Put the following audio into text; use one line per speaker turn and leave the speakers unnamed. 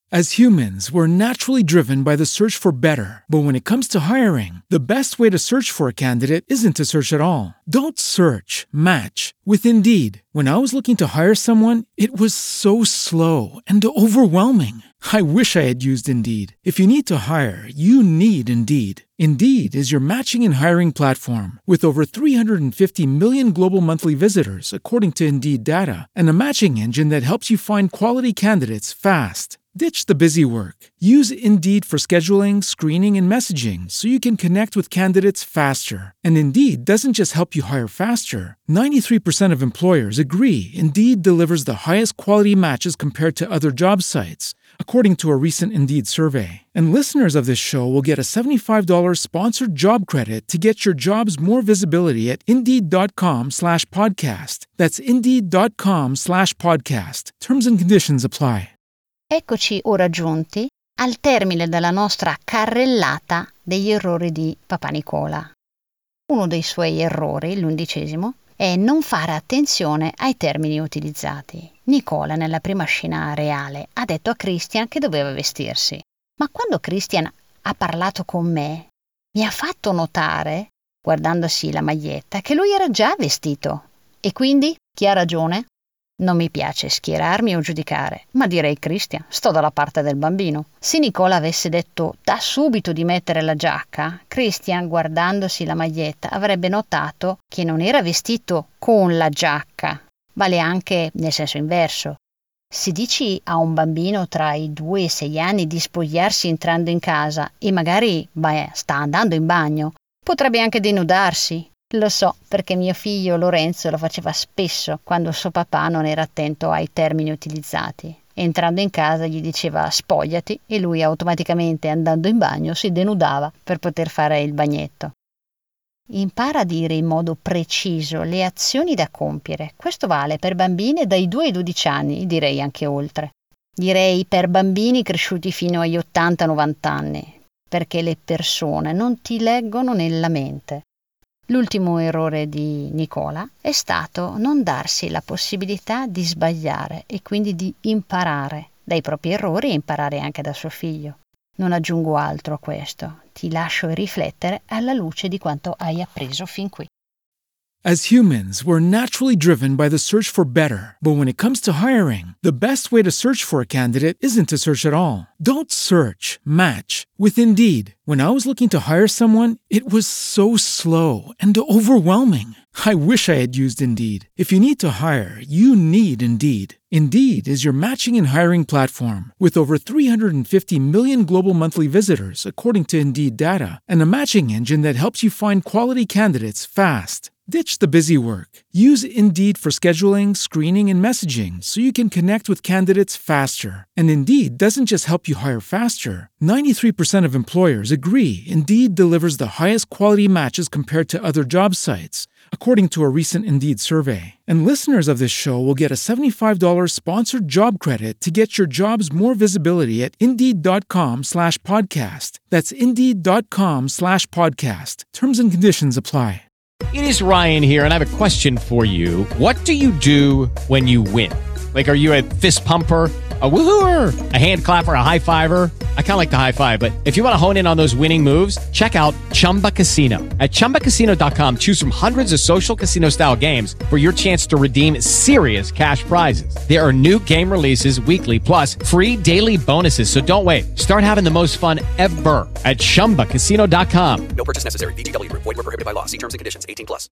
As humans, we're naturally driven by the search for better. But when it comes to hiring, the best way to search for a candidate isn't to search at all. Don't search, match with Indeed. When I was looking to hire someone, it was so slow and overwhelming. I wish I had used Indeed. If you need to hire, you need Indeed. Indeed is your matching and hiring platform with over 350 million global monthly visitors, according to Indeed data, and a matching engine that helps you find quality candidates fast. Ditch the busy work. Use Indeed for scheduling, screening, and messaging so you can connect with candidates faster. And Indeed doesn't just help you hire faster. 93% of employers agree Indeed delivers the highest quality matches compared to other job sites, according to a recent Indeed survey. And listeners of this show will get a $75 sponsored job credit to get your jobs more visibility at Indeed.com/podcast. That's Indeed.com/podcast. Terms and conditions apply.
Eccoci ora giunti al termine della nostra carrellata degli errori di Papà Nicola. Uno dei suoi errori, l'11°, è non fare attenzione ai termini utilizzati. Nicola, nella prima scena reale, ha detto a Christian che doveva vestirsi. Ma quando Christian ha parlato con me, mi ha fatto notare, guardandosi la maglietta, che lui era già vestito. E quindi, chi ha ragione? Non mi piace schierarmi o giudicare, ma direi Christian, sto dalla parte del bambino. Se Nicola avesse detto da subito di mettere la giacca, Christian, guardandosi la maglietta, avrebbe notato che non era vestito con la giacca. Vale anche nel senso inverso. Se dici a un bambino tra i 2 e i 6 anni di spogliarsi entrando in casa e magari sta andando in bagno, potrebbe anche denudarsi. Lo so, perché mio figlio Lorenzo lo faceva spesso quando suo papà non era attento ai termini utilizzati. Entrando in casa gli diceva spogliati e lui automaticamente, andando in bagno, si denudava per poter fare il bagnetto. Impara a dire in modo preciso le azioni da compiere. Questo vale per bambine dai 2 ai 12 anni, direi anche oltre. Direi per bambini cresciuti fino agli 80-90 anni, perché le persone non ti leggono nella mente. L'ultimo errore di Nicola è stato non darsi la possibilità di sbagliare e quindi di imparare dai propri errori e imparare anche da suo figlio. Non aggiungo altro a questo, ti lascio riflettere alla luce di quanto hai appreso fin qui.
As humans, we're naturally driven by the search for better. But when it comes to hiring, the best way to search for a candidate isn't to search at all. Don't search, match with Indeed. When I was looking to hire someone, it was so slow and overwhelming. I wish I had used Indeed. If you need to hire, you need Indeed. Indeed is your matching and hiring platform with over 350 million global monthly visitors, according to Indeed data, and a matching engine that helps you find quality candidates fast. Ditch the busy work. Use Indeed for scheduling, screening, and messaging so you can connect with candidates faster. And Indeed doesn't just help you hire faster. 93% of employers agree Indeed delivers the highest quality matches compared to other job sites, according to a recent Indeed survey. And listeners of this show will get a $75 sponsored job credit to get your jobs more visibility at Indeed.com/podcast. That's Indeed.com/podcast. Terms and conditions apply.
It is Ryan here, and I have a question for you. What do you do when you win? Like, are you a fist pumper, a woohooer, a hand clapper, a high fiver? I kind of like the high five, but if you want to hone in on those winning moves, check out Chumba Casino. At ChumbaCasino.com, choose from hundreds of social casino-style games for your chance to redeem serious cash prizes. There are new game releases weekly, plus free daily bonuses. So don't wait. Start having the most fun ever at ChumbaCasino.com.
No purchase necessary. VGW Group. Void where prohibited by law. See terms and conditions. 18+.